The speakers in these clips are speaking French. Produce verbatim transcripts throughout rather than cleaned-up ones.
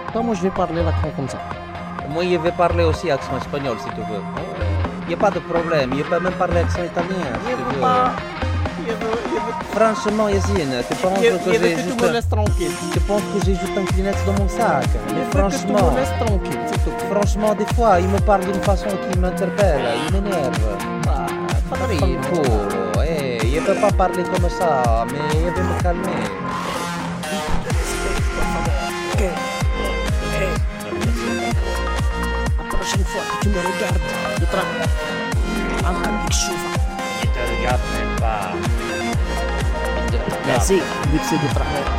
Non, moi je vais parler l'accent comme ça. Moi, je vais parler aussi accent espagnol si tu veux. Il n'y a pas de problème, je peux même parler accent italien si Je tu veux veux. pas. Je veux. Je veux. Franchement, Yacine, tu penses Je, que je veux j'ai que tu juste... me laisses tranquille. Tu penses que j'ai juste un Kleenex dans mon sac. Je Mais veux que tu franchement, me laisses tranquille, c'est tout. franchement, des fois, il me parle d'une façon qui m'interpelle, il m'énerve. Ah, padrino. Fanculo, eh, je peux pas parler comme ça, mais je vais me calmer. Ok. Ok. La prochaine fois que tu me regardes de travers, عندك الشوفة. Je te regarde même pas. Mais si, vu que c'est de travers.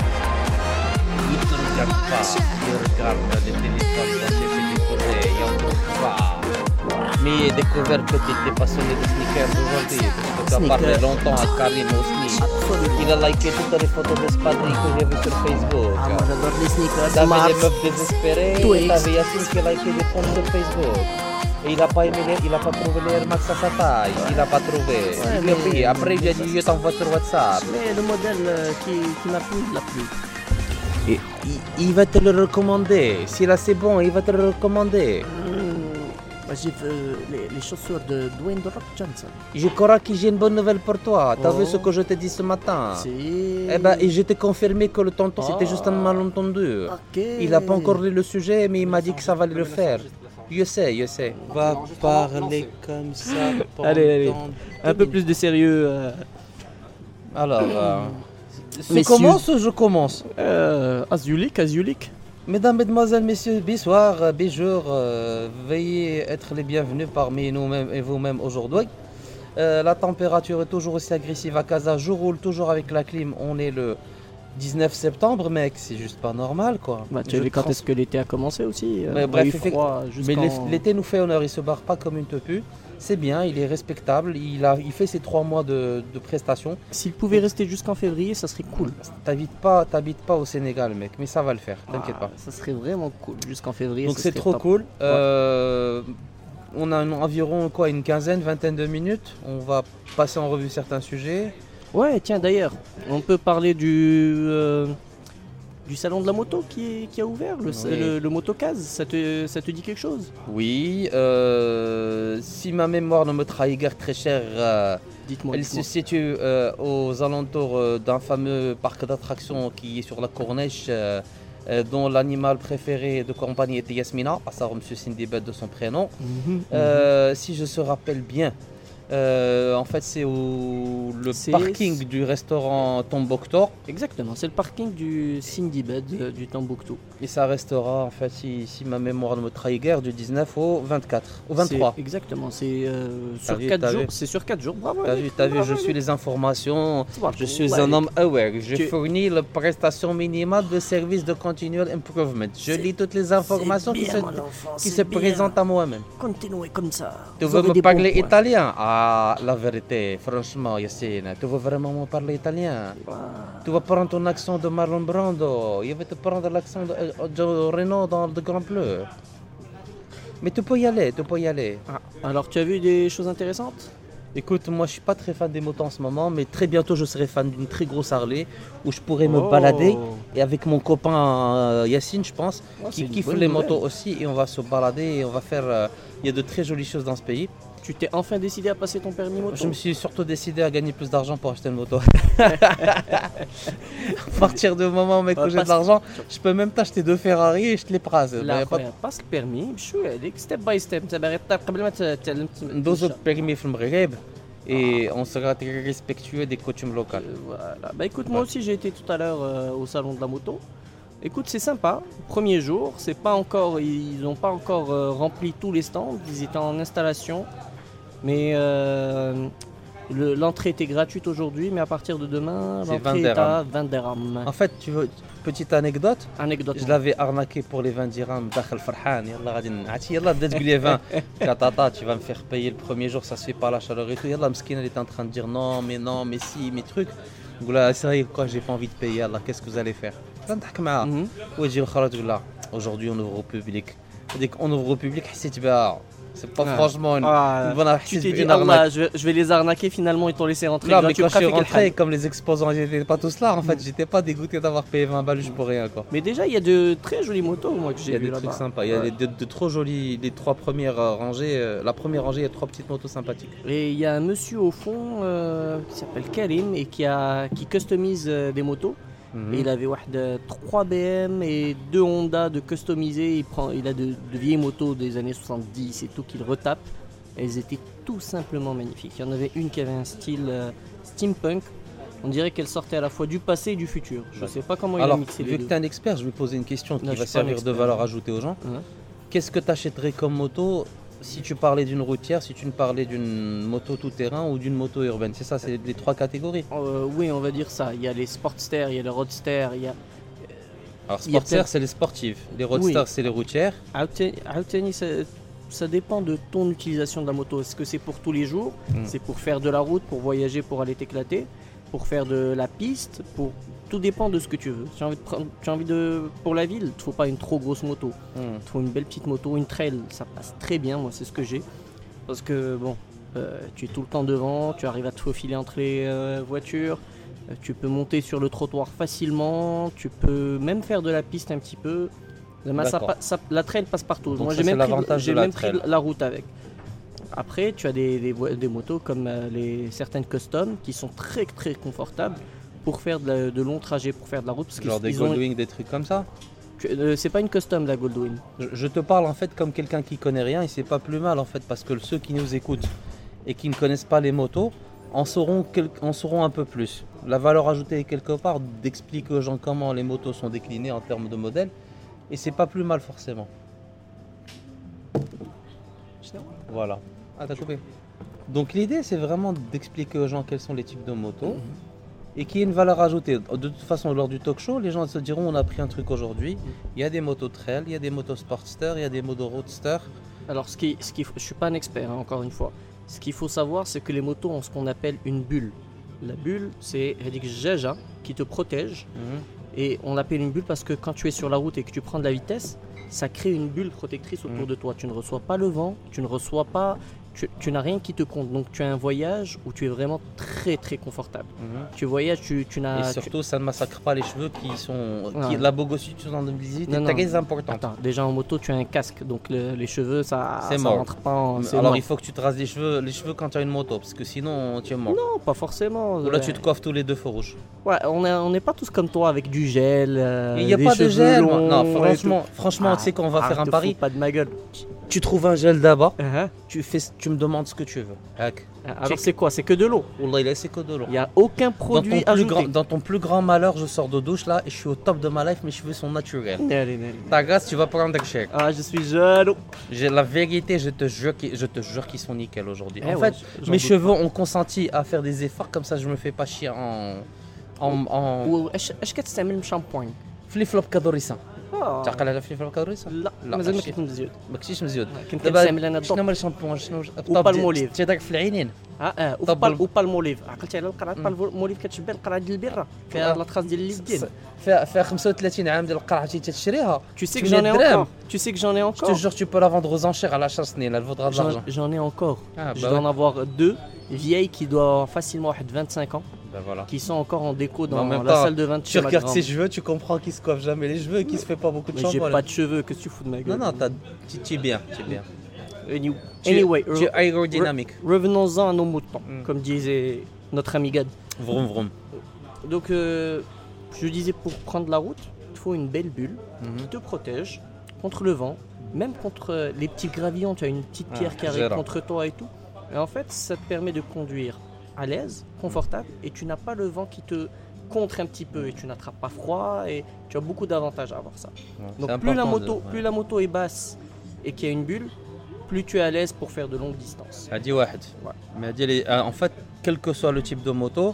Il te regarde pas, il regarde le téléphone dans ses déposés, il en trouve pas. Mais j'ai découvert que tu étais passionné de sneakers aujourd'hui, parce que tu as parlé Sneakers. longtemps à Karim Osni. Absolument. Il a liké toutes les photos d'espadrilles que j'ai vues sur Facebook. Ah, moi j'adore les sneakers. T'avais Mars. des meufs désespérées, Twix. t'avais Yacine qui a liké des comptes sur Facebook. Et il a pas aimé, les- il a pas trouvé les Air Max à sa taille, il a pas trouvé. Ouais, il l'a mais- pris. Après il a dit je t'envoie sur WhatsApp. Mais le modèle euh, qui, qui m'a plu, il l'a plu. Et il, il va te le recommander. Si là c'est bon, il va te le recommander. Mmh, moi j'ai vu les, les chaussures de Dwayne The Rock Johnson. Je crois que j'ai une bonne nouvelle pour toi. T'as Oh. vu ce que je t'ai dit ce matin? Si. Eh ben, et je t'ai confirmé que le tonton c'était Ah. juste un malentendu. Ok. Il a pas encore lu le sujet, mais il m'a dit que ça valait le faire. Je sais, je sais. Va parler comme ça. Allez, allez. pendant Un peu deux plus de sérieux. Euh, Alors, euh, tu Messieurs. commences ou je commence? euh, Azulik, Azulik. Mesdames, Mesdemoiselles, Messieurs, bonsoir, euh, bonjour, euh, veuillez être les bienvenus parmi nous-mêmes et vous-mêmes aujourd'hui. Euh, la température est toujours aussi agressive à Casa, je roule toujours avec la clim, on est le dix-neuf septembre, mec, c'est juste pas normal quoi. Bah, tu Je as vu quand trans- est-ce que l'été a commencé aussi euh, Mais on a bref, eu effect- froid Mais jusqu'en- l'eff- l'été nous fait honneur, il se barre pas comme une tepu. C'est bien, il est respectable, il, a, il fait ses trois mois de, de prestations. S'il pouvait rester jusqu'en février, ça serait cool. T'habites pas, t'habites pas au Sénégal, mec, mais ça va le faire, t'inquiète Ah, pas. Ça serait vraiment cool jusqu'en février. Donc ça c'est serait trop top. cool. Euh, on a un- environ quoi, une quinzaine, vingtaine de minutes. On va passer en revue certains sujets. Ouais, tiens d'ailleurs, on peut parler du euh, du salon de la moto qui, est- qui a ouvert, le, Oui. le, le Motocase. Ça te, ça te dit quelque chose? Oui, euh, si ma mémoire ne me trahit guère très cher, euh, Dites-moi. elle se dites-moi. situe euh, aux alentours euh, d'un fameux parc d'attractions qui est sur la Corniche, euh, euh, dont l'animal préféré de compagnie était Yasmina, à savoir M. Sindibad de son prénom. Mhm, Euh, si je se rappelle bien, euh, en fait c'est au le C'est- parking du restaurant Tombouctou. Exactement, c'est le parking du Cindy Bed euh, du Tombouctou. Et ça restera, en fait, si, si ma mémoire ne me trahit guère, du dix-neuf au vingt-quatre, au vingt-trois. C'est- Exactement, c'est euh, T'as sur vu, quatre t'as jours. vu C'est sur quatre jours. Bravo. T'as Alex, vu, t'as vu, bravo, je Alex. suis les informations, je suis Ouais, un homme aware, je Tu- fournis la prestation minimale de service de continual improvement. Je C'est- lis toutes les informations c'est qui bien, se, mon enfant, qui c'est se bien. présentent à moi-même. Continuez comme ça. Tu Vous veux avez me des parler bons points. italien? Ah, la vérité, franchement, Yassine, tu veux vraiment me parler italien? Ah. Tu vas prendre ton accent de Marlon Brando, je vais te prendre l'accent de, euh, de Renault dans le Grand Bleu. Mais tu peux y aller, tu peux y aller. Ah, alors, tu as vu des choses intéressantes? Écoute, moi je suis pas très fan des motos en ce moment, mais très bientôt je serai fan d'une très grosse Harley où je pourrais me Oh. balader. Et avec mon copain euh, Yacine, je pense, Oh, c'est qui une kiffe bonne les nouvelle. motos aussi, et on va se balader et on va faire. euh, Il y a de très jolies choses dans ce pays. Tu t'es enfin décidé à passer ton permis moto? Je me suis surtout décidé à gagner plus d'argent pour acheter une moto. À partir du moment mec, Ouais, où j'ai parce- de l'argent, je peux même t'acheter deux Ferrari et je te les prase. لا خويا باسك بيرمي بشويه هذيك ستيب باي ستيب انت باغي طيب قبل ما تتعلم ندوزو permis في المغرب et on sera très respectueux des coutumes locales. Voilà. Bah écoute, moi aussi j'ai été tout à l'heure euh, au salon de la moto. Écoute, c'est sympa. Premier jour, c'est pas encore, ils n'ont pas encore euh, rempli tous les stands. Ils étaient en installation, mais euh, le- l'entrée était gratuite aujourd'hui, mais à partir de demain, C'est l'entrée vingt est à dirhams. vingt dirhams. En fait, tu veux petite anecdote, Anecdote. je l'avais arnaqué pour les vingt dirhams داخل فرحان يلا غادي نعطي يلا بدات تقول لي vingt katata tu vas me faire payer le premier jour ça se fait pas la chaleur et tout يلا مسكين elle était en train de dire non mais non mais si mes trucs نقول لها c'est vrai quoi j'ai pas envie de payer يلا qu'est-ce que vous allez faire نضحك معاها Mhm. وتجي الاخرى تقول لها aujourd'hui on ouvre au public هذيك on ouvre au public حسيت بها C'est pas Ah. franchement une, Ah, une bonne tu artiste, t'es dit, une Allah, arnaque. je vais, je vais les arnaquer, finalement ils t'ont laissé rentrer. Non, mais gratuit, quand je suis trafic el rentré, hal. comme les exposants n'étaient pas tous là, en fait, j'étais pas dégoûté d'avoir payé vingt balles juste pour rien, quoi. Mais déjà, il y a de très jolies motos, moi, que Il j'ai y a vues des trucs là-bas. sympas, il y a Ouais. des- de, de trop jolies, les trois premières euh, rangées. euh, la première rangée, il y a trois petites motos sympathiques. Et il y a un monsieur au fond euh, qui s'appelle Karim et qui, a, qui customise euh, des motos. Mhm. Et il avait واحد, trois B M et deux Honda de customiser. Il, prend, il a de, de vieilles motos des années soixante-dix et tout qu'il retape. Elles étaient tout simplement magnifiques. Il y en avait une qui avait un style euh, steampunk. On dirait qu'elle sortait à la fois du passé et du futur. Je ne sais pas comment il Alors, a mixé les vu que deux. tu es un expert, je vais poser une question qui Non, je va suis pas un servir de expert. valeur ajoutée aux gens. Hein. Qu'est-ce que tu achèterais comme moto si tu parlais d'une routière, si tu ne parlais d'une moto tout-terrain ou d'une moto urbaine? C'est ça, c'est les trois catégories. Euh, oui, on va dire ça. Il y a les Sportster, il y a les Roadster, il y a Alors, Il y a sportster, peut-être- c'est les sportives. Les roadsters, c'est les routières. Aouteni- Aouteni, ça, ça dépend de ton utilisation de la moto. Est-ce que c'est pour tous les jours? Mm. C'est pour faire de la route, pour voyager, pour aller t'éclater, pour faire de la piste, pour... Tout dépend de ce que tu veux. Tu as envie de prendre... tu as envie de... Pour la ville, il ne faut pas une trop grosse moto. Hmm. Il te faut une belle petite moto, une trail, ça passe très bien, moi c'est ce que j'ai. Parce que bon, euh, tu es tout le temps devant, tu arrives à te faufiler entre les euh, voitures, euh, tu peux monter sur le trottoir facilement, tu peux même faire de la piste un petit peu. Mais ça D'accord. pa- ça- la trail passe partout. Donc moi ça, j'ai c'est même, pris, l'avantage j'ai de la même pris trail. la route avec. Après, tu as des, des, vo- des motos comme euh, les, certaines custom qui sont très très confortables pour faire de, la- de longs trajets, pour faire de la route. Parce Genre qu'ils- des ils ont- Goldwing, des trucs comme ça. tu- euh, c'est pas une custom la Goldwing. Je, je te parle en fait comme quelqu'un qui connaît rien et c'est pas plus mal en fait parce que ceux qui nous écoutent et qui ne connaissent pas les motos en sauront, quel- en sauront un peu plus. La valeur ajoutée est quelque part d'expliquer aux gens comment les motos sont déclinées en termes de modèles et c'est pas plus mal forcément. Voilà. Ah t'as coupé. Donc l'idée c'est vraiment d'expliquer aux gens quels sont les types de motos et qu'il y ait une valeur ajoutée. De toute façon lors du talk show les gens se diront on a pris un truc aujourd'hui. Il y a des motos trail, il y a des motos sportster, il y a des motos roadster. Alors, ce qui, ce qui, je suis pas un expert, hein, encore une fois. Ce qu'il faut savoir, c'est que les motos ont ce qu'on appelle une bulle. La bulle, c'est Hedik Jaja qui te protège. Et on l'appelle une bulle parce que quand tu es sur la route et que tu prends de la vitesse, ça crée une bulle protectrice autour Mhm. de toi. Tu ne reçois pas le vent, tu ne reçois pas. Tu, tu n'as rien qui te compte. Donc, tu as un voyage où tu es vraiment très très confortable. Tu voyages, tu, tu n'as. Et tu- surtout, ça ne massacre pas les cheveux qui sont. Qui, Ouais. la bogocyture en deux mille dix-huit Non, est non. très importante. Attends, déjà en moto, tu as un casque. Donc, le- les cheveux, ça C'est ça mort. rentre pas en. c'est Alors mort. il faut que tu te rases les cheveux, les cheveux quand tu as une moto, parce que sinon tu es mort. Non, pas forcément. Ou là euh, tu te coiffes tous les deux feux rouges. Ouais, on est- on n'est pas tous comme toi avec du gel. euh, Il n'y a des pas de cheveux gel. longs Non, et franchement, tout. franchement, Ah, tu sais qu'on va arrête, faire un te pari. fous pas de ma gueule. Tu trouves un gel d'abord, Uh-huh. tu, fais, tu me demandes ce que tu veux. Hack. Alors Check. c'est quoi? C'est que de l'eau. Wallah, il a c'est que de l'eau. Il n'y a aucun Dans produit ton, plus ajouté. grand, dans ton plus grand malheur, je sors de douche là et je suis au top de ma life, mes cheveux sont naturels. Allez, allez. Ta grâce, tu vas prendre un chèque. Ah, je suis jaloux. J'ai la vérité, je te jure qu'ils, je te jure qu'ils sont nickel aujourd'hui. Eh en ouais, fait, j'en mes doute cheveux ont consenti à faire des efforts comme ça, je me fais pas chier en en en واش اش كتستعمل الشامبوين؟ flip flop كادوريسان. آه. تعقل على flip flop كادوريسان؟ لا لا، مازال ما ماشي. كنت مزيود. ما كنتيش مزيود. كنت دابا كنستعمل انا شنو الضوء. هما الشامبوان شنو وبالموليف. تيداك في العينين. اه اه طب وبال ال- وبالموليف. عقلتي على القرعه بالموليف كتشبه القرعه ديال البيره فيها آه. لاطخاص ديال اليدين. فيها فيها خمسة وثلاثين عام ديال القرعه تي تشريها. Tu sais que Tu j'en ai mets de encore. Tu sais que j'en ai Je te encore. jure, tu peux la vendre aux enchères à la chasse elle vaudra de J'en l'argent. j'en ai encore. Ah, Je bah dois ouais. en avoir deux vieilles qui doivent avoir facilement vingt-cinq ans, Ben voilà. qui sont encore en déco Mais dans en même la temps, salle de vin de Tu chez ma regardes grande. ses cheveux, tu comprends qu'il se coiffe jamais les cheveux et qu'il se fait pas beaucoup de Mais j'ai shampoing. pas de cheveux, qu'est-ce que tu fous de ma gueule? Non, non, t'as- tu tu es bien, tu es bien. Any- Tu- Anyway, tu es re- aérodynamique. revenons-en à nos moutons, Mm. comme disait notre ami Gad. Vroom vroom. Donc, euh, je disais, pour prendre la route, il faut une belle bulle Mhm. qui te protège contre le vent, même contre euh, les petits gravillons. Tu as une petite Ah, pierre qui arrive gérant. contre toi et tout. Et en fait, ça te permet de conduire à l'aise, confortable, et tu n'as pas le vent qui te contre un petit peu et tu n'attrapes pas froid et tu as beaucoup d'avantages à avoir ça. Ouais, Donc c'est plus la important moto, de- ouais. plus la moto est basse et qu'il y a une bulle, plus tu es à l'aise pour faire de longues distances. هادي واحد. Ouais. Mais هادي les- euh, en fait, quel que soit le type de moto,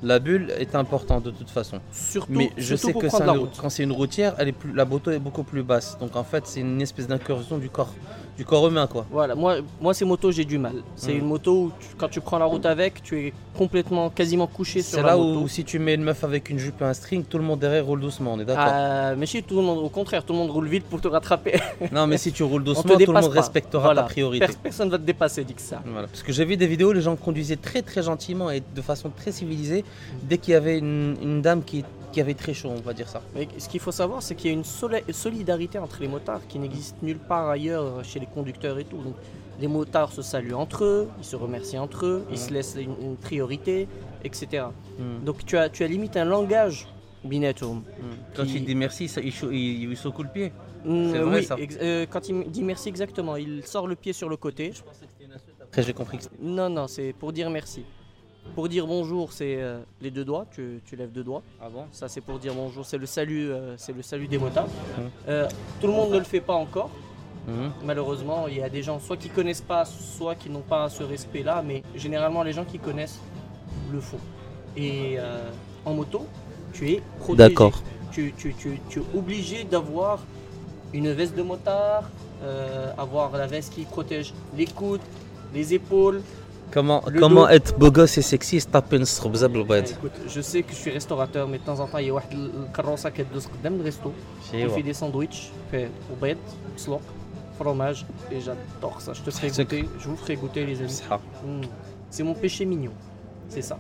La bulle est importante de toute façon. Surtout, Mais je surtout sais pour que prendre ça, la route. quand c'est une routière, elle est plus, la moto est beaucoup plus basse. Donc en fait, c'est une espèce d'incursion du corps, du corps humain, quoi. Voilà, moi, moi ces motos, j'ai du mal. C'est Mm. une moto où tu- quand tu prends la route avec, tu es complètement, quasiment couché sur C'est la là moto. où si tu mets une meuf avec une jupe et un string, tout le monde derrière roule doucement, on est d'accord. Euh, mais chez tout le monde, au contraire, tout le monde roule vite pour te rattraper. Non, mais si tu roules On doucement, te tout le dépasse monde pas. respectera Voilà. ta priorité. Pers- personne va te dépasser, dit que ça. Voilà. Parce que j'ai vu des vidéos, les gens conduisaient très très gentiment et de façon très civilisée dès qu'il y avait une, une dame qui, qui avait très chaud, on va dire ça. Mais ce qu'il faut savoir, c'est qu'il y a une soli- solidarité entre les motards qui n'existe nulle part ailleurs chez les conducteurs et tout. Donc, les motards se saluent entre eux, ils se remercient entre eux, ils se laissent une, une priorité, et cetera. Mm. Donc tu as, tu as limite un langage binatum. Mm. Quand Qui- il dit merci, ça, il, chou- il, il secoue le pied. Mm, C'est vrai, oui, ça. ex- euh, quand il me dit merci exactement, il sort le pied sur le côté. Après, j'ai compris que c'était. Non, non, c'est pour dire merci. Pour dire bonjour, c'est euh, les deux doigts, tu, tu lèves deux doigts. Ah bon? Ça, c'est pour dire bonjour, c'est le salut, euh, c'est le salut des motards. Mhm. Euh, tout le monde ne le fait pas encore. Mhm. Malheureusement, il y a des gens soit qui connaissent pas, soit qui n'ont pas ce respect-là, mais généralement les gens qui connaissent le font. Et euh, en moto, tu es protégé. D'accord. Tu, tu- tu- tu es obligé d'avoir une veste de motard, euh, avoir la veste qui protège les coudes, les épaules. Comment, Le comment dos. être beau gosse et sexy se taper une strobe بالبيض. Écoute, je sais que je suis restaurateur, mais de temps en temps, il y a واحد الكروسة كدوز قدام الريستو. Il ايوا fait des sandwichs, fait au bête, slop, fromage, et j'adore ça. Je te ferai C'est- goûter, je vous ferai goûter les amis. بصحة Mm. C'est mon péché mignon, c'est ça.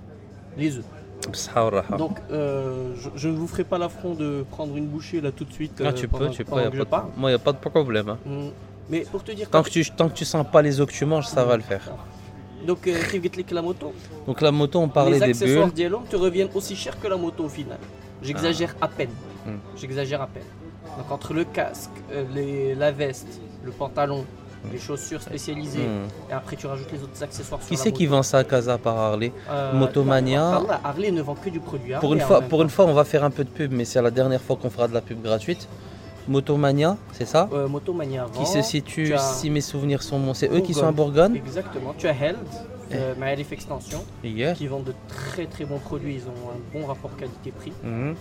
Les œufs. بصحة والراحة. Donc, euh, je, je ne vous ferai pas l'affront de prendre une bouchée là tout de suite. Ah, euh, tu pendant- peux, tu peux, pendant y a que pas je parle. de... moi il n'y a pas de problème. hein. Mm. Mais pour te dire, Tant quand que, tu, tant que tu sens pas les os que tu manges, ça va le faire. donc, euh, كيف قلت لك la moto, Donc la moto, on parlait les des accessoires bulles. d'Yelom te reviennent aussi cher que la moto au final. J'exagère à peine. Mm. J'exagère à peine. Donc entre le casque, euh, les- la veste, le pantalon, les chaussures spécialisées, Mm. et après tu rajoutes les autres accessoires sur Qui la c'est qui moto. vend ça à Casa par Harley? Euh, Motomania. non, Harley- Harley ne vend que du produit Pour une, Harley en fois, même pour temps. une fois, on va faire un peu de pub, mais c'est la dernière fois qu'on fera de la pub gratuite. Motomania, c'est ça? Euh, Motomania Qui vend, se situe, tu as- si mes souvenirs sont bons, c'est eux qui sont à Bourgogne. Bourgogne. Exactement. Tu as Held, euh, Maëlif Extension, Hier. qui vendent de très très bons produits. Ils ont un bon rapport qualité-prix. Mhm.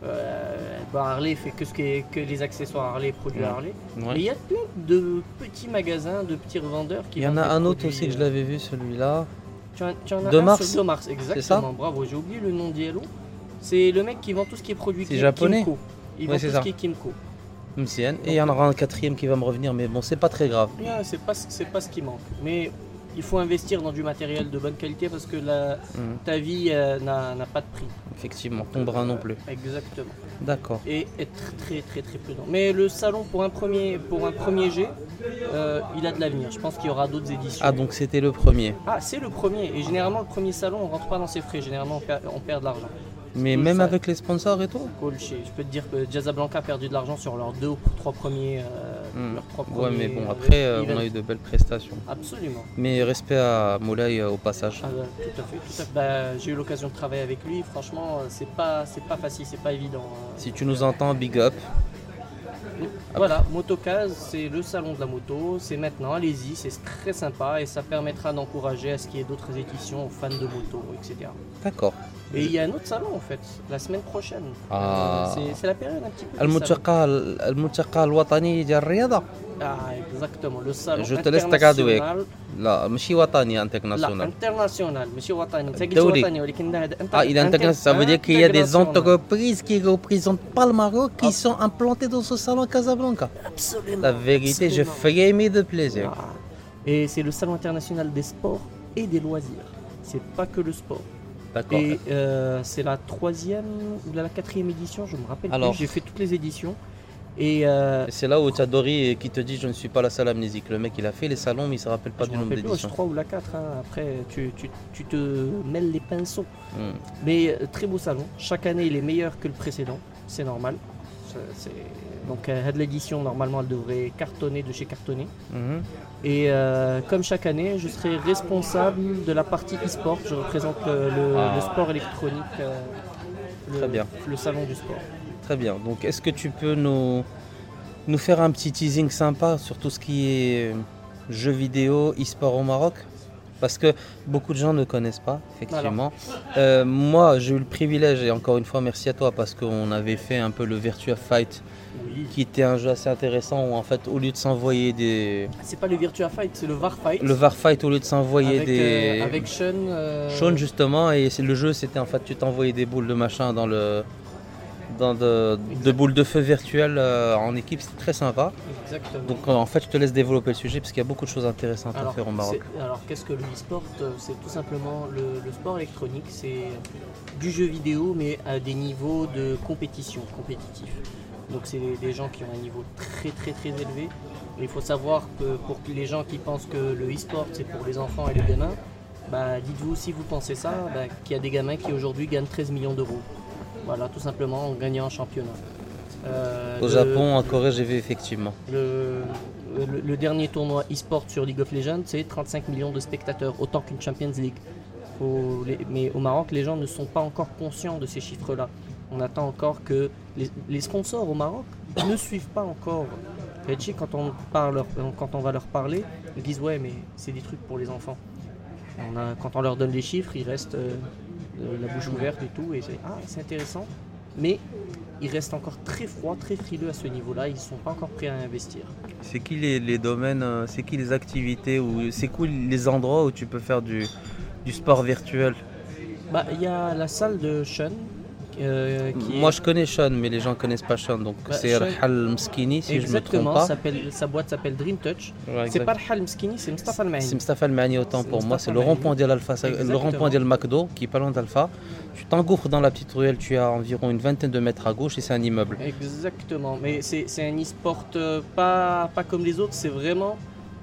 Euh, bah, Harley fait que ce qui est que les accessoires Harley, produits Ouais. Harley. Ouais. Mais il y a plein de petits magasins, de petits revendeurs qui Il y en vendent a des un autre produits, aussi que je euh, l'avais vu, celui-là. Tu en, tu en as De un Mars. sur De Mars, exactement. Bravo, j'ai oublié le nom d'Yellow. C'est le mec qui vend tout ce qui est produit C'est Kim- japonais. Kimco. Il Ouais, vend c'est tout ça. ce qui est Kimco. Msian. Et il y en aura un quatrième qui va me revenir, mais bon, c'est pas très grave. Ouais, c'est pas, c'est pas ce qui manque. Mais il faut investir dans du matériel de bonne qualité parce que la, Mhm. ta vie euh, n'a n'a pas de prix. Effectivement, ton bras non plus. Exactement. D'accord. Et être très très très prudent. Mais le salon pour un premier, pour un premier jet, euh, il a de l'avenir. Je pense qu'il y aura d'autres éditions. Ah, donc c'était le premier. Ah, c'est le premier. Et généralement, le premier salon, on rentre pas dans ses frais. Généralement, on perd, on perd de l'argent. Mais Tout même ça. avec les sponsors et tout? Cool shit. Je peux te dire que Casablanca a perdu de l'argent sur leurs deux ou trois premiers. euh, Hmm. leurs trois Ouais, mais premiers, bon, euh, après, euh, on events. a eu de belles prestations. Absolument. Mais respect à Moulay euh, au passage. Ah, bah, tout à fait, tout à fait. Bah, j'ai eu l'occasion de travailler avec lui. Franchement, euh, c'est pas, c'est pas facile, c'est pas évident. hein. Si tu nous entends, big up. Voilà, Motocase, c'est le salon de la moto. C'est maintenant, allez-y, c'est très sympa et ça permettra d'encourager à ce qu'il y ait d'autres éditions aux fans de moto, et cetera. D'accord. Et il y a un autre salon en fait, la semaine prochaine. Ah. C'est- C'est la période un petit peu. des الملتقى الملتقى الوطني ديال الرياضة. salons. Ah, exactement, le salon Je te laisse تقعد وياك. international. لا ماشي وطني لا انترناسيونال. انترناسيونال ماشي وطني، انت قلت الدولي. وطني ولكن هذا Ah, il est international, ça veut dire qu'il y a des international. entreprises qui ne représentent pas le Maroc qui Ah. sont implantées dans ce salon à Casablanca. Absolument. La vérité, je absolument. frémis de plaisir. Ah. Et c'est le salon international des sports et des loisirs. C'est pas que le sport. D'accord. Et euh, c'est la troisième ou la quatrième édition, je me rappelle Alors. plus. J'ai fait toutes les éditions. Et euh, Et c'est là où tu as Dory qui te dit je ne suis pas la seule amnésique. Le mec il a fait les salons mais il se rappelle pas je du me nombre rappelle plus, d'éditions. je trois ou la quatre. hein. Après, tu, tu- tu te mêles les pinceaux. Hmm. Mais euh, très beau salon. Chaque année, il est meilleur que le précédent. C'est normal. C'est- c'est- Donc, euh, l'édition, normalement, elle devrait cartonner de chez cartonner. Mhm. Et euh, comme chaque année, je serai responsable de la partie e-sport. Je représente le, le- Ah. le sport électronique, euh, le, Très bien. le salon du sport. Très bien. Donc est-ce que tu peux nous, nous faire un petit teasing sympa sur tout ce qui est jeux vidéo, e-sport au Maroc? Parce que beaucoup de gens ne connaissent pas, effectivement. Euh, moi, j'ai eu le privilège, et encore une fois, merci à toi, parce qu'on avait fait un peu le Virtua Fight, oui. qui était un jeu assez intéressant, où en fait, au lieu de s'envoyer des... C'est pas le Virtua Fight, c'est le V A R Fight. Le V A R Fight, au lieu de s'envoyer avec, des... Euh, avec Sean. Euh... Sean, justement, et c'est le jeu, c'était en fait, tu t'envoyais des boules de machin dans le... dans de, de boules de feu virtuelles euh, en équipe, c'est très sympa. Exactement. Donc euh, en fait, je te laisse développer le sujet parce qu'il y a beaucoup de choses intéressantes alors, à faire au Maroc. Alors qu'est-ce que le e-sport? C'est tout simplement le, le sport électronique, c'est du jeu vidéo mais à des niveaux de compétition, compétitif. Donc c'est des gens qui ont un niveau très très très élevé. Et il faut savoir que pour les gens qui pensent que le e-sport c'est pour les enfants et les gamins, bah, dites-vous si vous pensez ça, bah, qu'il y a des gamins qui aujourd'hui gagnent treize millions d'euros. Voilà, tout simplement en gagnant un championnat. Euh, Au le, Japon, en Corée, j'ai vu effectivement. Le, le, le dernier tournoi e-sport sur League of Legends, c'est trente-cinq millions de spectateurs, autant qu'une Champions League. Au, les, mais au Maroc, les gens ne sont pas encore conscients de ces chiffres-là. On attend encore que les, les sponsors au Maroc ne suivent pas encore. Quand on, parle, quand on va leur parler, ils disent ouais, mais c'est des trucs pour les enfants. On a, quand on leur donne les chiffres, ils restent euh, la bouche ouverte et tout, et c'est ah, c'est intéressant. Mais ils restent encore très froids, très frileux à ce niveau-là, ils ne sont pas encore prêts à investir. C'est qui les, les domaines, c'est qui les activités, ou c'est quoi les endroits où tu peux faire du, du sport virtuel? Bah, y a la salle de Sean. Euh, qui Moi est... je connais Sean, mais les gens ne connaissent pas Sean, donc bah, c'est Rhal Mskini si exactement, je me trompe pas. Sa boîte s'appelle Dream Touch. Ouais, c'est pas Rhal Mskini, c'est Mustafa Al Mahani. C'est Mustafa Al Mahani autant pour moi, c'est le rond-point de l'Alpha, le rond-point de McDo qui est pas loin d'Alpha. Tu t'engouffres dans la petite ruelle, tu as environ une vingtaine de mètres à gauche et c'est un immeuble. Exactement, mais c'est, c'est un e-sport euh, pas, pas comme les autres, c'est vraiment...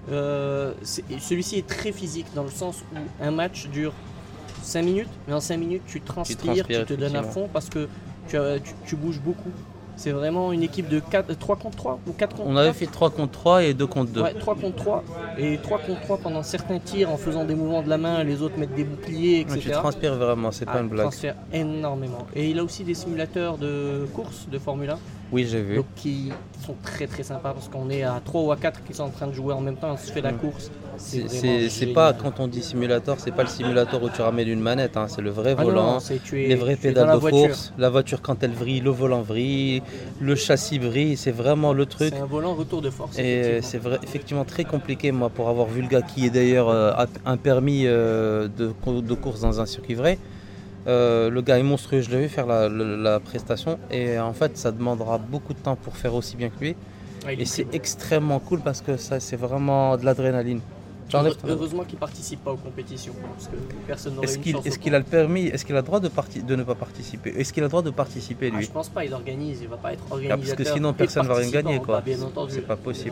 Euh, c'est, celui-ci est très physique dans le sens où un match dure cinq minutes, mais en cinq minutes tu transpires, tu, transpires, tu te donnes à fond parce que tu, tu, tu bouges beaucoup. C'est vraiment une équipe de quatre, trois contre trois ou quatre contre trois. On avait fait trois contre trois et deux contre deux. Ouais, trois contre trois. Et trois contre trois pendant certains tirs en faisant des mouvements de la main, les autres mettent des boucliers, et cetera. Ouais, tu transpires vraiment, c'est ah, pas une blague. Tu transpires énormément. Et il a aussi des simulateurs de course de Formule un. Oui, j'ai vu. Donc, qui sont très très sympas parce qu'on est à trois ou à quatre qui sont en train de jouer en même temps, on se fait la course. C'est, c'est, c'est pas, quand on dit simulateur, c'est pas le simulateur où tu ramènes une manette, hein, c'est le vrai ah volant, non, c'est, tu es, les vraies pédales de voiture. Course, la voiture quand elle vrille, le volant vrille, le châssis brille, c'est vraiment le truc. C'est un volant retour de force. Et c'est vrai, effectivement très compliqué, moi, pour avoir vu le gars qui est d'ailleurs euh, un permis euh, de, de course dans un circuit vrai. Euh, le gars est monstrueux, je l'ai vu faire la, la, la prestation et en fait ça demandera beaucoup de temps pour faire aussi bien que lui. Ah, et c'est extrêmement cool parce que ça c'est vraiment de l'adrénaline. Heureusement qu'il ne participe pas aux compétitions parce que personne n'aurait est-ce une qu'il, chance. Est-ce qu'il a le permis? Est-ce qu'il a le droit de, parti- de ne pas participer? Est-ce qu'il a le droit de participer lui? ah, Je pense pas, il organise, il va pas être organisateur. Ah, parce que sinon personne ne va rien gagner quoi. Bah, bien entendu. C'est pas possible.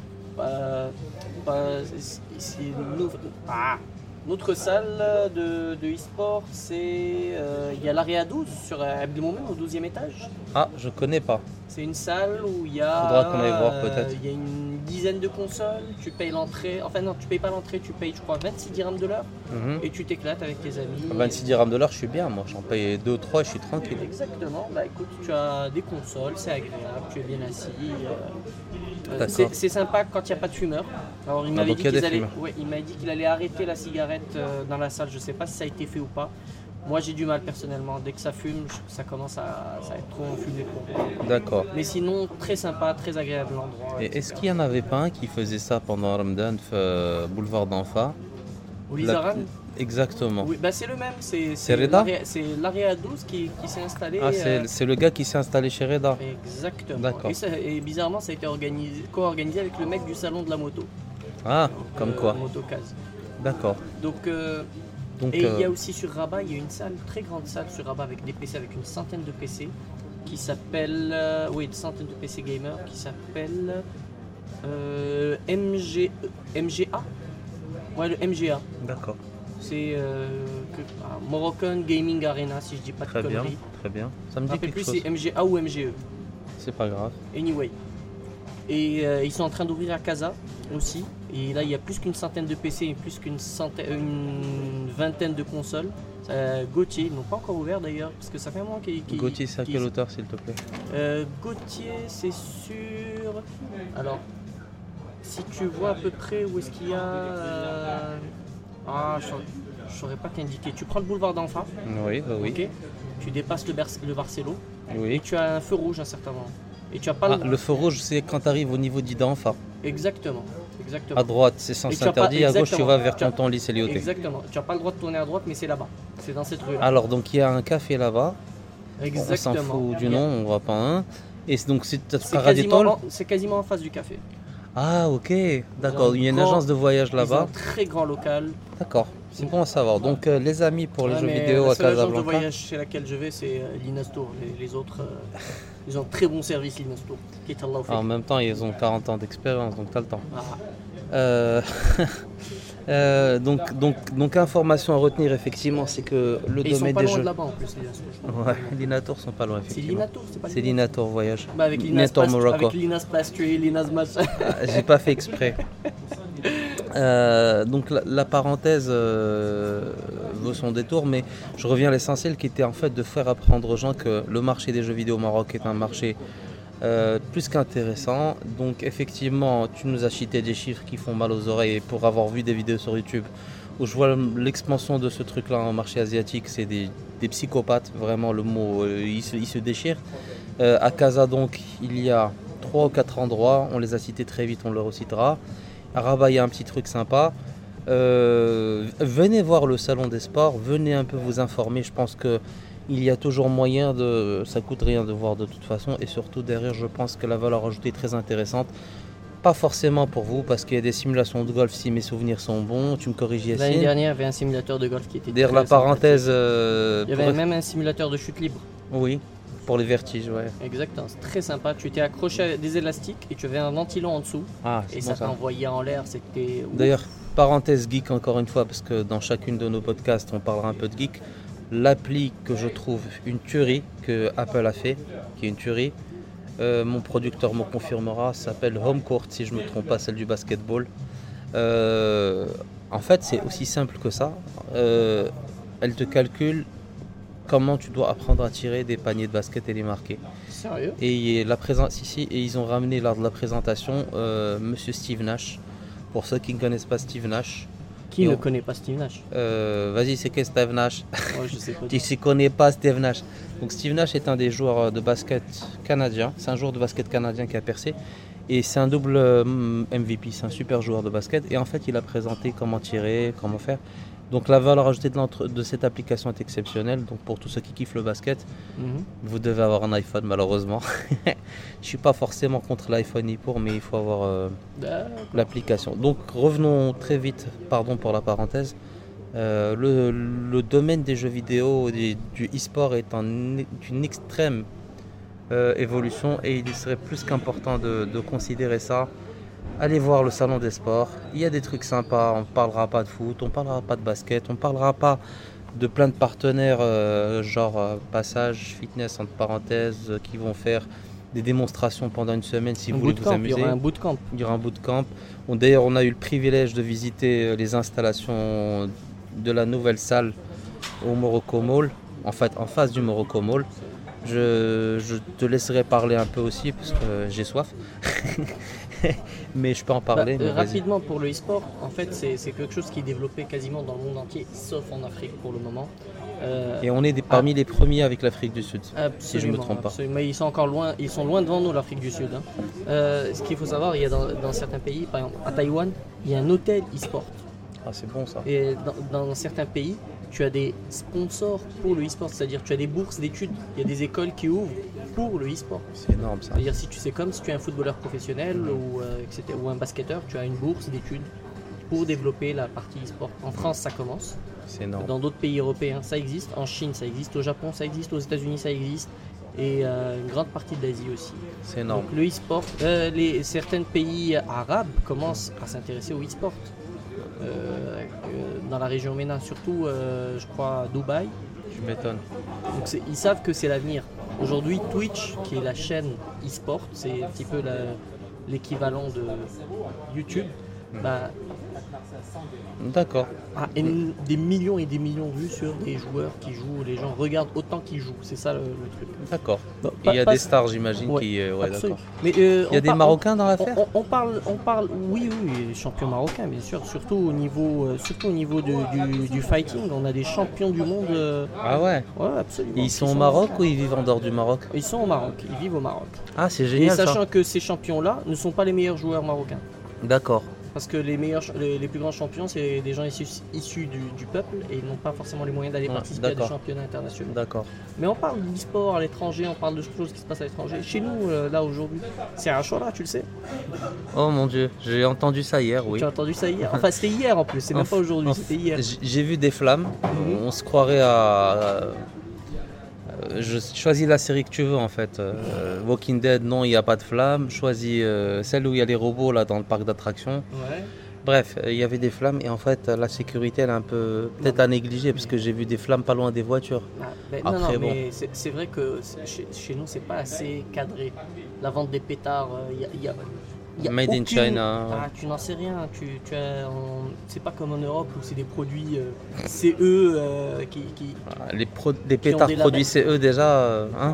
Bah, bah, c'est, c'est nous... ah. Notre salle de, de e-sport, c'est euh, il y a l'Area douze sur Abdelmoumen au douzième étage. Ah, je connais pas. C'est une salle où il y a Faudra qu'on aille voir peut-être. Il y a une dizaine de consoles, tu payes l'entrée, enfin non, tu payes pas l'entrée, tu payes je crois vingt-six dirhams de l'heure mm-hmm. et tu t'éclates avec tes amis. vingt-six dirhams de l'heure, je suis bien, moi j'en paye deux ou trois, je suis tranquille. Exactement, bah écoute, tu as des consoles, c'est agréable, tu es bien assis. Euh, c'est, c'est sympa quand il n'y a pas de fumeurs. Alors il m'avait ah, dit qu'ils allaient, ouais, il m'a dit qu'il allait arrêter la cigarette euh, dans la salle, je sais pas si ça a été fait ou pas. Moi j'ai du mal personnellement, dès que ça fume, ça commence à, ça à être trop enfumé pour moi. D'accord. Mais sinon, très sympa, très agréable l'endroit. Et et est-ce qu'il n'y en avait pas un qui faisait ça pendant Ramadan, euh, boulevard d'Anfa? Au Lizaran la... Exactement. Oui, bah c'est le même, c'est, c'est, c'est Reda l'area, c'est l'Area douze qui, qui s'est installé. Ah, c'est, euh... c'est le gars qui s'est installé chez Reda. Exactement. D'accord. Et, ça, et bizarrement, ça a été organisé, co-organisé avec le mec du salon de la moto. Ah, donc, comme euh, quoi. Motocase. D'accord. Donc, euh, Donc et il euh... y a aussi sur Rabat, il y a une salle, très grande salle sur Rabat avec des P C, avec une centaine de P C qui s'appelle, euh, oui, une centaine de P C gamers qui s'appelle euh, M G, M G A. Ouais, le M G A. D'accord. C'est euh, que, ah, Moroccan Gaming Arena, si je dis pas de très conneries. Bien, très bien. Ça me dit quelque plus chose. C'est M G A ou M G E. C'est pas grave. Anyway. Et euh, ils sont en train d'ouvrir à Casa aussi. Et là, il y a plus qu'une centaine de P C et plus qu'une centaine, une vingtaine de consoles. Euh, Gauthier, ils n'ont pas encore ouvert d'ailleurs, parce que ça fait un moment qu'ils... qu'ils Gauthier, c'est à quelle hauteur, s'il te plaît? euh, Gauthier, c'est sur... Alors, si tu vois à peu près où est-ce qu'il y a... Euh... Ah, je ne saurais pas t'indiquer. Tu prends le boulevard d'Enfa. Oui, bah oui. Okay. Tu dépasses le, Ber- le Barcelo. Oui. Et tu as un feu rouge à un certain moment. Et tu as pas ah, le... le feu rouge, c'est quand tu arrives au niveau d'Idanfa. Exactement. Exactement. À droite, c'est sens interdit. Pas... À gauche, tu vas vers Tonton Lycée Lyoté. Exactement. Tu n'as pas le droit de tourner à droite, mais c'est là-bas. C'est dans cette rue-là. Alors, donc, il y a un café là-bas. Exactement. On s'en fout du nom, on ne voit pas un. Et donc, c'est quasiment, c'est quasiment en face du café. Ah, ok. D'accord. Il y a une grand, agence de voyage là-bas. Un très grand local. D'accord. C'est bon à savoir. Donc, euh, les amis pour ouais, les jeux vidéo à Casablanca. La agence de voyage chez laquelle je vais, c'est euh, l'Inastour. Les, les autres, euh, ils ont un très bon service, l'Inastour. En même temps, ils ont quarante ans d'expérience, donc tu as le temps. Ah. Euh... euh, donc, donc, donc, information à retenir, effectivement, c'est que le Et domaine des jeux. Ils sont pas loin de là-bas en plus, l'Inastour. Ouais, l'Inatour sont pas loin, effectivement. C'est l'Inatour, c'est pas C'est l'Inatour Voyage. Bah avec l'Inas Pastry, l'Inas Machin. J'ai pas fait exprès. Euh, donc la, la parenthèse euh, vaut son détour, mais je reviens à l'essentiel qui était en fait de faire apprendre aux gens que le marché des jeux vidéo au Maroc est un marché euh, plus qu'intéressant. Donc effectivement, tu nous as cité des chiffres qui font mal aux oreilles pour avoir vu des vidéos sur YouTube où je vois l'expansion de ce truc-là en marché asiatique, c'est des, des psychopathes, vraiment le mot, euh, il, se, il se déchire. Euh, à Casa donc, il y a trois ou quatre endroits, on les a cités très vite, on le recitera. À Rabat, il y a un petit truc sympa. Euh, venez voir le salon des sports, venez un peu vous informer. Je pense qu'il y a toujours moyen de. Ça coûte rien de voir de toute façon. Et surtout, derrière, je pense que la valeur ajoutée est très intéressante. Pas forcément pour vous, parce qu'il y a des simulations de golf, si mes souvenirs sont bons. Tu me corriges, Yassine. L'année dernière, il y avait un simulateur de golf qui était. Derrière la parenthèse. Euh, il y avait pour... même un simulateur de chute libre. Oui. Pour les vertiges, ouais. Exactement, c'est très sympa. Tu étais accroché à des élastiques et tu avais un ventilo en dessous. Ah, et bon ça t'envoyait en l'air, c'était... D'ailleurs, parenthèse geek encore une fois, parce que dans chacune de nos podcasts, on parlera un peu de geek. L'appli que je trouve une tuerie, que Apple a fait, qui est une tuerie, euh, mon producteur me confirmera, s'appelle HomeCourt, si je ne me trompe pas, celle du basketball. Euh, en fait, c'est aussi simple que ça. Euh, elle te calcule comment tu dois apprendre à tirer des paniers de basket et les marquer. Sérieux ? Et la présence ici, et ils ont ramené lors de la présentation euh, Monsieur Steve Nash. Pour ceux qui ne connaissent pas Steve Nash. Qui ne on... connaît pas Steve Nash ? euh, Vas-y, c'est que Steve Nash. Oh, je sais pas. Tu ne connais pas Steve Nash. Donc Steve Nash est un des joueurs de basket canadien. C'est un joueur de basket canadien qui a percé. Et c'est un double M V P, c'est un super joueur de basket. Et en fait, il a présenté comment tirer, comment faire. Donc la valeur ajoutée de, de cette application est exceptionnelle. Donc pour tous ceux qui kiffent le basket, mm-hmm. vous devez avoir un iPhone malheureusement. Je ne suis pas forcément contre l'iPhone ni pour, mais il faut avoir euh, l'application. Donc revenons très vite, pardon pour la parenthèse. Euh, le, le domaine des jeux vidéo, des, du e-sport est en une extrême euh, évolution et il serait plus qu'important de, de considérer ça. Allez voir le salon des sports, il y a des trucs sympas, on ne parlera pas de foot, on ne parlera pas de basket, on ne parlera pas de plein de partenaires euh, genre euh, Passage, Fitness entre parenthèses, euh, qui vont faire des démonstrations pendant une semaine si un vous voulez vous amuser. Il y aura un bootcamp. Il y aura un bootcamp. Bon, d'ailleurs, on a eu le privilège de visiter les installations de la nouvelle salle au Morocco Mall, en fait en face du Morocco Mall. Je, je te laisserai parler un peu aussi parce que j'ai soif. Mais je peux en parler. Bah, mais rapidement, pour le e-sport, en fait, c'est, c'est quelque chose qui est développé quasiment dans le monde entier, sauf en Afrique pour le moment. Euh, Et on est des, parmi ah, les premiers avec l'Afrique du Sud, si je ne me trompe pas. Mais ils sont encore loin, ils sont loin devant nous, l'Afrique du Sud. Hein. Euh, ce qu'il faut savoir, il y a dans, dans certains pays, par exemple à Taïwan, il y a un hôtel e-sport. Ah, c'est bon ça. Et dans, dans certains pays, tu as des sponsors pour le e-sport, c'est-à-dire tu as des bourses d'études, il y a des écoles qui ouvrent pour le e-sport. C'est énorme ça. C'est-à-dire si tu sais comme si tu es un footballeur professionnel mmh. ou, euh, et cetera, ou un basketteur, tu as une bourse d'études pour développer la partie e-sport. En France, ça commence. C'est énorme. Dans d'autres pays européens, ça existe. En Chine, ça existe. Au Japon, ça existe. Aux États-Unis, ça existe. Et euh, une grande partie d'Asie aussi. C'est énorme. Donc le e-sport, euh, les, certains pays arabes commencent à s'intéresser au e-sport. Euh, euh, dans la région MENA, surtout, euh, je crois, à Dubaï. Tu m'étonnes. Donc c'est, ils savent que c'est l'avenir. Aujourd'hui, Twitch, qui est la chaîne e-sport, c'est un petit peu la, l'équivalent de YouTube, bah, D'accord. ah, et n- des millions et des millions de vues sur des joueurs qui jouent. Les gens regardent autant qu'ils jouent. C'est ça le, le truc. D'accord. Bah, Il y a pas- des pas- stars, j'imagine, Ouais, qui. euh, ouais, absolument. d'accord. Mais, euh, Il y a on des par- on- Marocains dans On, l'affaire? on- on parle, on parle, oui, oui, champions marocains, bien sûr. Surtout au niveau, euh, surtout au niveau de- du, du fighting, on a des champions du monde. euh, Ah ouais. ouais, absolument. Et ils qui sont au Maroc marocains. ou ils vivent en dehors du Maroc? Ils sont au Maroc. Ils vivent au Maroc. Ah, c'est Et génial sachant ça. que ces champions-là ne sont pas les meilleurs joueurs marocains. D'accord. Parce que les meilleurs, ch- les, les plus grands champions, c'est des gens issus, issus du, du peuple et ils n'ont pas forcément les moyens d'aller Ouais, participer à des d'accord. championnats internationaux. D'accord. Mais on parle d'e-sport à l'étranger, on parle de choses qui se passent à l'étranger. Chez nous, euh, là aujourd'hui, c'est Ashura, tu le sais. Oh mon dieu, j'ai entendu ça hier, oui. Tu as entendu ça hier. Enfin, c'était hier en plus, c'est même Enf- pas aujourd'hui, enf- c'était hier. J- J'ai vu des flammes. Mhm. On se croirait à. euh, Je choisis la série que tu veux en fait. Euh, Walking Dead, non, il n'y a pas de flammes. Choisis euh, celle où il y a les robots là dans le parc d'attractions. Ouais. Bref, euh, il y avait des flammes et en fait la sécurité elle est un peu peut-être à négliger parce que j'ai vu des flammes pas loin des voitures. Ah, ben, non, Après, non, bon. mais c'est c'est vrai que c'est- chez, chez nous, c'est pas assez cadré. La vente des pétards, il y a, y a- y a Made in aucune- China. Ah, tu n'en sais rien. Tu, tu as, on- c'est pas comme en Europe où c'est des produits euh, C E euh, qui, qui- Ah, Les, pro- des ont pétards des produits labels. C E déjà, euh, hein.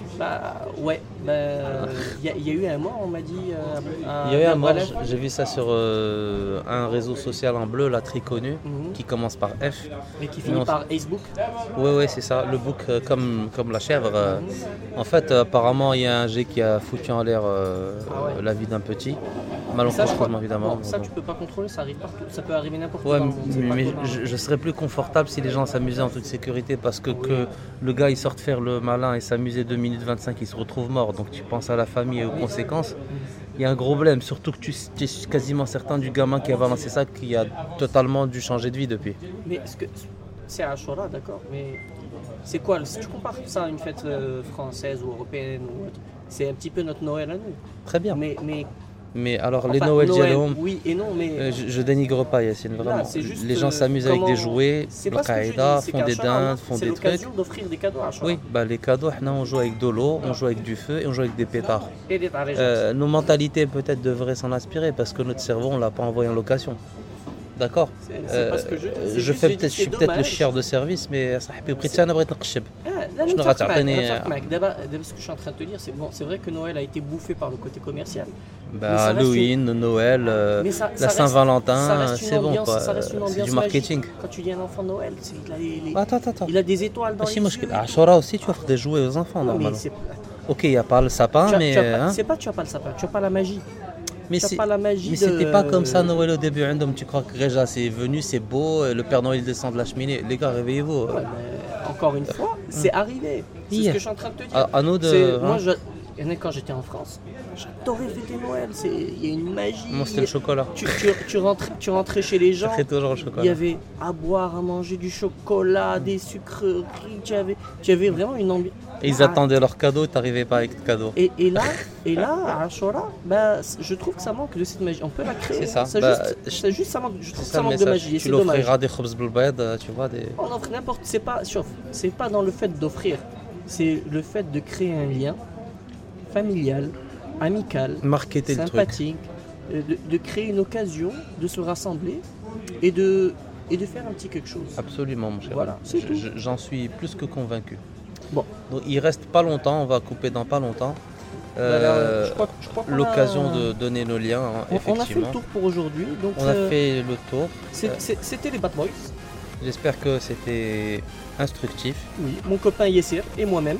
Bah ouais, bah, il y, a- il y a eu un mort, on m'a dit. euh, à Il y a eu un mort, Berbalef. j'ai vu ça sur euh, un réseau social en bleu là très connu Mhm. qui commence par F. Mais qui finit Non, par Facebook. Oui, oui, c'est ça, le bouc euh, comme, comme la chèvre. euh. En fait, euh, apparemment, il y a un G qui a foutu en l'air euh, Ah ouais. la vie d'un petit. Ça, je Malencontreusement, crois- évidemment. bon, ça, Bon. tu peux pas contrôler, ça arrive partout. Ça peut arriver n'importe où. Ouais, dans le monde, c'est mais, pas mais comme un- je, je serais plus confortable si les gens s'amusaient en toute sécurité parce que, Oui. que le gars il sorte faire le malin et s'amuser deux minutes vingt-cinq, il se retrouve mort. Donc tu penses à la famille et aux conséquences. Il y a un gros problème, surtout que tu, tu es quasiment certain du gamin qui a balancé ça qui a totalement dû changer de vie depuis. Mais est-ce que c'est Ashura, d'accord, mais c'est quoi le- si tu compares ça à une fête euh, française ou européenne ou autre, c'est un petit peu notre Noël à nous. Très bien. Mais mais Mais alors les enfin, Noël Jalom, oui et non, mais euh, je, je dénigre pas Yacine, vraiment. Là, c'est juste, les gens euh, s'amusent avec des comment- jouets, c'est le pas ce que je dis, qaïda, c'est font des qu'Ashura, dindes, font c'est des trucs. l'occasion d'offrir des cadeaux à Ashura. Oui, bah, les cadeaux, là, on joue avec de l'eau, on joue avec du feu et on joue avec des pétards. Et des tarés. Euh, nos mentalités peut-être devraient s'en inspirer parce que notre cerveau on l'a pas envoyé en location. D'accord. C'est- c'est pas ce que je dis, c'est je juste- fais j'ai dit, peut-être, je suis c'est peut-être le dommage. chieur de service, mais صاحبي بغيت انا بغيت نقشب. Ah, là, Je nous ne sommes rate معك, rien. nous sommes معك. D'abord, d'abord, ce que je suis en train de te dire, c'est bon, c'est vrai que Noël a été bouffé par le côté commercial. Mais Bah, ça reste Halloween, Noël, euh, Mais ça- ça la reste- Saint-Valentin, ça reste une c'est bon ambiance- quoi. ça reste une C'est ambiance du marketing. magique. Quand tu dis un enfant de Noël, c'est- il a les- les- Attends, attends, attends. il a des étoiles dans ماشي les yeux. مشكل. À Ashura aussi, tu offres des jouets aux enfants Non, mais normalement. c'est Ok, il n'y a pas le sapin, tu as- mais. tu as pas- hein. c'est pas tu as pas le sapin, tu as pas la magie. Mais tu as c'est- pas la magie mais de- c'était pas comme ça Noël au début. عندهم. Tu crois que déjà c'est venu, c'est beau, et le Père Noël il descend de la cheminée. Les gars, réveillez-vous. Ouais, mais encore une fois, c'est arrivé. C'est ce Hier. que je suis en train de te dire. À, à nous de. C'est- hein. Moi, je, il y en a quand j'étais en France, j'adorais fêter Noël. C'est- Il y a une magie. Moi c'était le chocolat. Tu, tu, tu, rentrais, tu rentrais chez les gens, C'est toujours le il y chocolat. avait à boire, à manger du chocolat, des sucreries. Tu avais, tu avais vraiment une ambiance. Et ils attendaient leur cadeau, t'arrivais pas avec de cadeau. Et, et là, et là, à Ashura, bah, je trouve que ça manque de cette magie. On peut la créer. C'est ça. C'est Bah, juste, c'est juste ça manque. Je trouve C'est que ça ça le manque de message. magie. Et Tu c'est dommage. l'offriras des khobz بالبيض, tu vois, des. On offre n'importe. C'est pas, sauf, c'est pas dans le fait d'offrir. C'est le fait de créer un lien familial, amical, Marketer le truc. sympathique, euh, de, de créer une occasion de se rassembler et de et de faire un petit quelque chose. Absolument, mon cher. Voilà, c'est Je- tout. je- J'en suis plus que convaincu. Bon, Donc, il reste pas longtemps, on va couper dans pas longtemps. voilà, Euh, je crois, je crois qu'on a- L'occasion de donner nos liens, hein, On, on a fait effectivement. le tour pour aujourd'hui. Donc, On a euh, fait le tour. c'est- c'est- c'était les Bad Boys. J'espère que c'était instructif. Oui, mon copain Yessir et moi-même.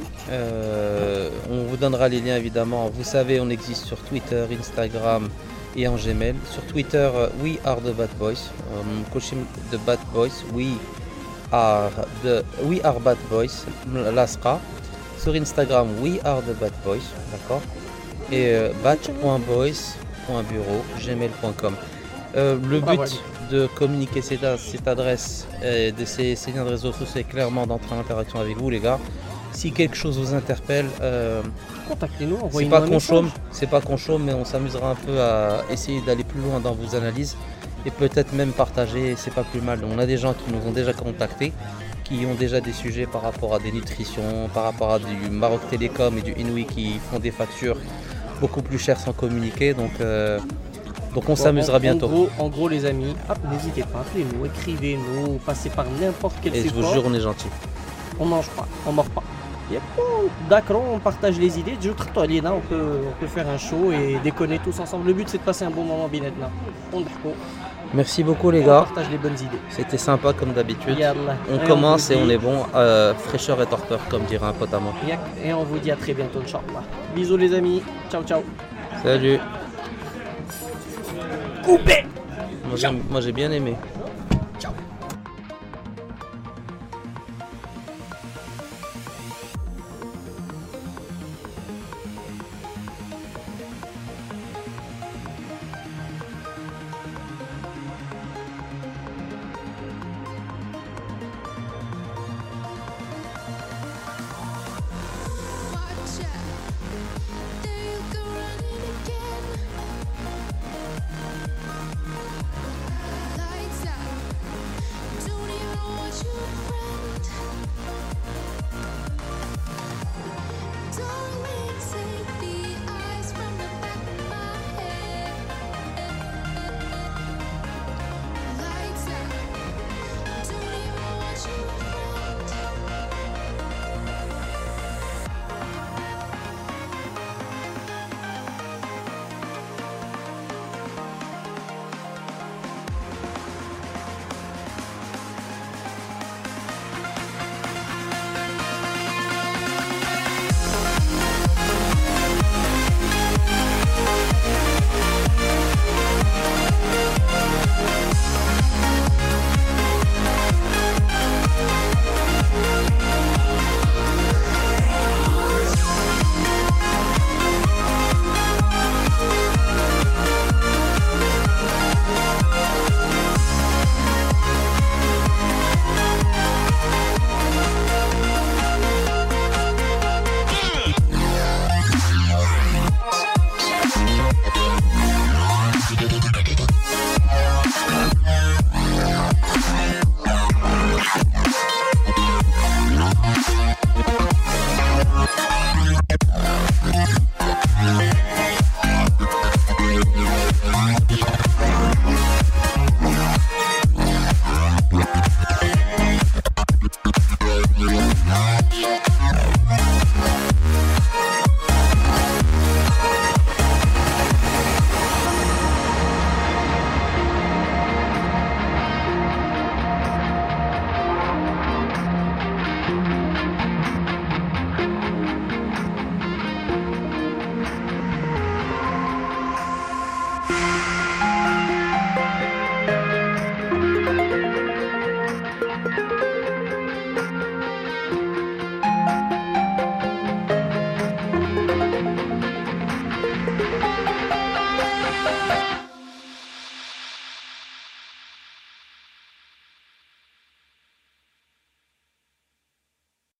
Euh, on vous donnera les liens évidemment. Vous savez, on existe sur Twitter, Instagram et en Gmail. Sur Twitter, euh, we are the Bad Boys. Um, Koshim the Bad Boys. We are the we are Bad Boys. Lasqa. Sur Instagram, we are the Bad Boys. D'accord. Et euh, bat.boys.bureau gmail point com. Euh, le Ah, but ouais. de communiquer cette, cette adresse et de ces, ces liens de réseaux sociaux, c'est clairement d'entrer en interaction avec vous, les gars. Si quelque chose vous interpelle, euh, Contactez-nous, c'est envoyez-nous pas un qu'on message. chôme, c'est pas qu'on chôme, mais on s'amusera un peu à essayer d'aller plus loin dans vos analyses et peut-être même partager. C'est pas plus mal. On a des gens qui nous ont déjà contactés, qui ont déjà des sujets par rapport à des nutritions, par rapport à du Maroc Télécom et du Inouï qui font des factures beaucoup plus chères sans communiquer. Donc euh, Donc on Bon, s'amusera en- bientôt. En gros, en gros, les amis, hop, n'hésitez pas, appelez-nous, écrivez-nous, passez par n'importe quel Et je vous support. jure, on est gentil. On mange pas, on mord pas. Yep. D'accord, on partage les idées. Je trouve toi, Liena, on peut, on peut faire un show et déconner tous ensemble. Le but, c'est de passer un bon moment binet là. On d'hako, Merci beaucoup les on gars. partage les bonnes idées. C'était sympa comme d'habitude. Yallah. On Et commence vous et on dit- est bon. Euh, fraîcheur et torpeur, comme dirait un pote à moi. Yak. Et on vous dit à très bientôt, Inch'Allah. Bisous les amis. Ciao, ciao. Salut. Coupé. Moi, j'aime- moi j'ai bien aimé.